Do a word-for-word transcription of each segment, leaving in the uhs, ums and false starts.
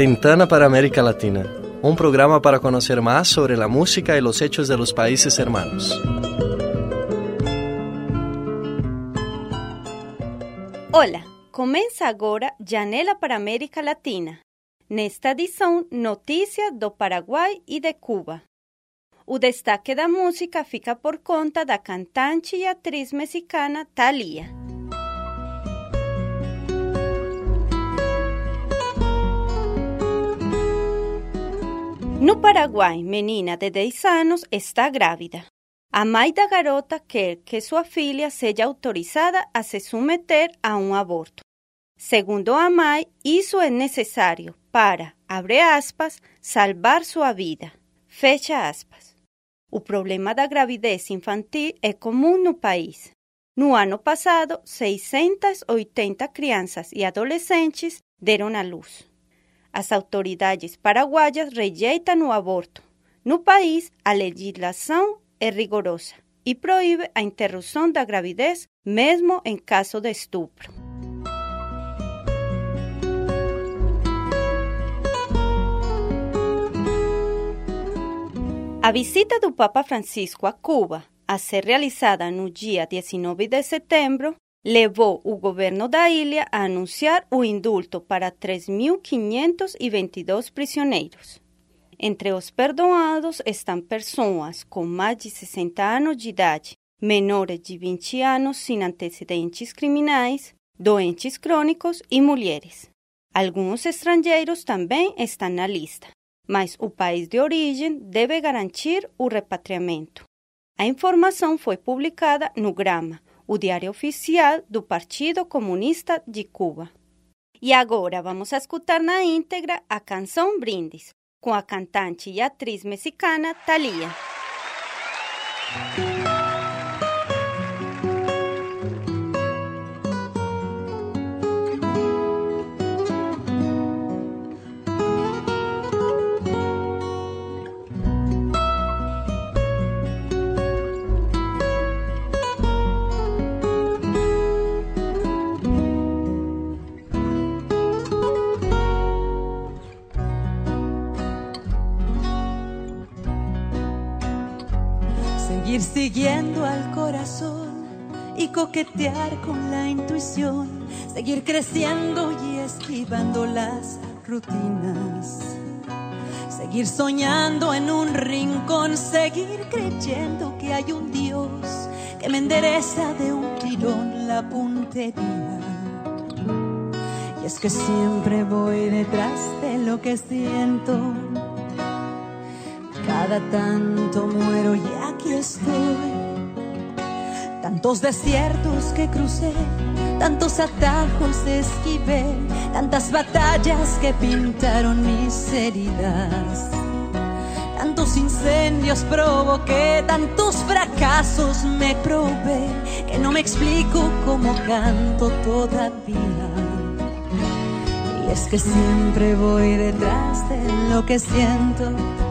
Ventana para América Latina, un programa para conocer más sobre la música y los hechos de los países hermanos. Olá, começa agora Janela para América Latina. Nesta edição, notícias do Paraguai e de Cuba. O destaque da música fica por conta da cantante e atriz mexicana Thalía. No Paraguai, menina de dez anos está grávida. A mãe da garota quer que sua filha seja autorizada a se submeter a um aborto. Segundo a mãe, isso é necessário para, abre aspas, salvar sua vida. Fecha aspas. O problema da gravidez infantil é comum no país. No ano passado, seiscentas e oitenta crianças e adolescentes deram à luz. As autoridades paraguaias rejeitam o aborto. No país, a legislação é rigorosa e proíbe a interrupção da gravidez, mesmo em caso de estupro. A visita do Papa Francisco a Cuba, a ser realizada no dia dezenove de setembro, levou o governo da ilha a anunciar o indulto para três mil quinhentos e vinte e dois prisioneiros. Entre os perdoados estão pessoas com mais de sessenta anos de idade, menores de vinte anos sem antecedentes criminais, doentes crônicos e mulheres. Alguns estrangeiros também estão na lista, mas o país de origem deve garantir o repatriamento. A informação foi publicada no Grama, o diário oficial do Partido Comunista de Cuba. E agora vamos a escutar na íntegra a canção Brindis, com a cantante e atriz mexicana Thalía. Seguir siguiendo al corazón y coquetear con la intuición, seguir creciendo y esquivando las rutinas, seguir soñando en un rincón, seguir creyendo que hay un Dios que me endereza de un tirón la puntería. Y es que siempre voy detrás de lo que siento. Cada tanto muero y aquí estoy. Tantos desiertos que crucé, tantos atajos esquivé, tantas batallas que pintaron mis heridas, tantos incendios provoqué, tantos fracasos me probé, que no me explico cómo canto todavía. Y es que siempre voy detrás de lo que siento.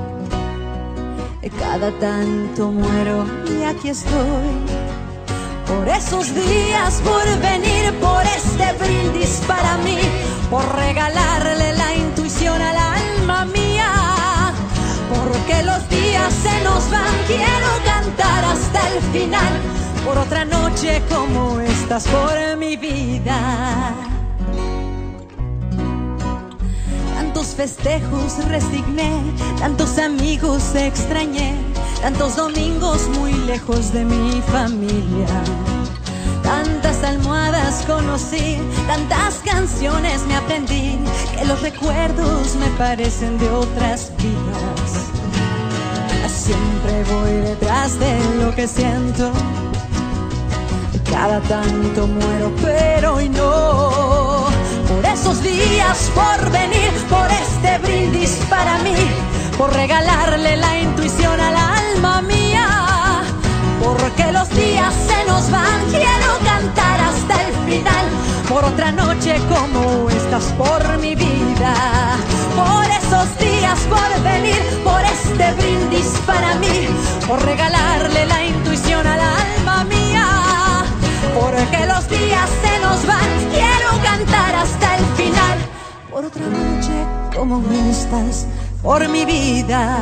Cada tanto muero y aquí estoy. Por esos días, por venir, por este brindis para mí, por regalarle la intuición al alma mía. Porque los días se nos van, quiero cantar hasta el final. Por otra noche como estas, por mi vida. Tantos festejos resigné, tantos amigos extrañé, tantos domingos muy lejos de mi familia. Tantas almohadas conocí, tantas canciones me aprendí, que los recuerdos me parecen de otras vidas. Siempre voy detrás de lo que siento. Cada tanto muero, pero hoy no. Por esos días, por venir, por este brindis para mí, por regalarle la intuición al alma mía. Porque los días se nos van, quiero cantar hasta el final. Por otra noche como estas, por mi vida. Por esos días, por venir, por este brindis para mí, por regalarle la intuición al alma mía. Porque los días se nos van, quiero cantar hasta el final. Por otra noche como estas por mi vida.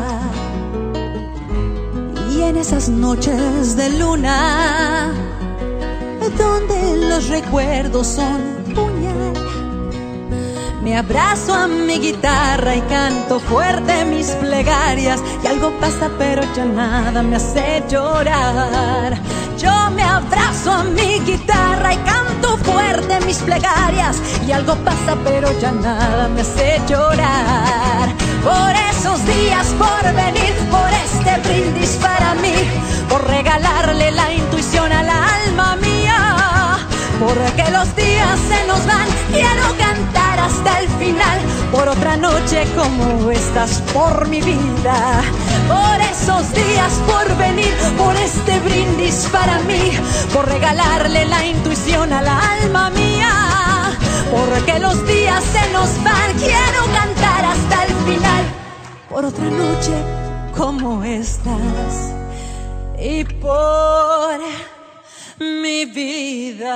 Y en esas noches de luna, donde los recuerdos son puñal, me abrazo a mi guitarra y canto fuerte mis plegarias. Y algo pasa pero ya nada me hace llorar. Yo me abrazo a mi guitarra y canto fuerte mis plegarias. Y algo pasa pero ya nada me hace llorar. Por esos días por venir, por este brindis para mí, por regalarle la intuición al alma mía. Porque los días se nos van, quiero cantar hasta el final, por otra noche como estas, por mi vida. Por esos días por venir, por este brindis para mí, por regalarle la intuición al alma mía. Porque los días se nos van, quiero cantar hasta el final, por otra noche como estas y por mi vida.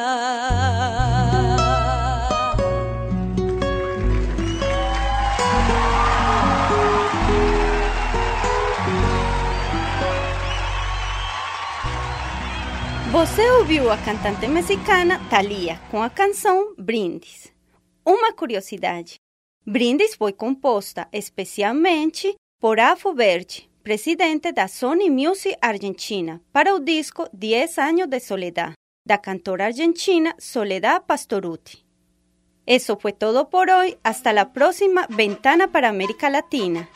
Você ouviu a cantante mexicana Thalía com a canção Brindis. Uma curiosidade: Brindis foi composta especialmente por Afo Verde, presidente da Sony Music Argentina, para o disco Diez años de soledad, da cantora argentina Soledad Pastorutti. Eso fue todo por hoy. Hasta la próxima Ventana para América Latina.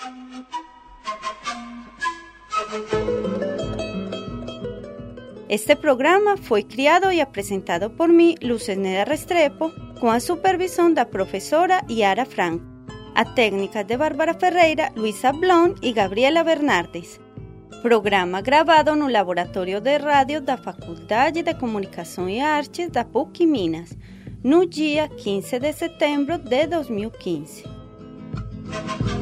Este programa foi criado e apresentado por mim, Luceneda Restrepo, com a supervisão da professora Yara Franco. A técnica de Bárbara Ferreira, Luisa Blon e Gabriela Bernardes. Programa gravado no Laboratório de Rádio da Faculdade de Comunicação e Artes da P U C Minas, no dia quinze de setembro de dois mil e quinze.